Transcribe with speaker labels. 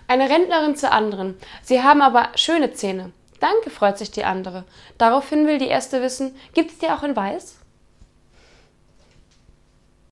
Speaker 1: Eine Rentnerin zur anderen: Sie haben aber schöne Zähne. Danke, freut sich die andere. Daraufhin will die erste wissen: Gibt's die auch in weiß?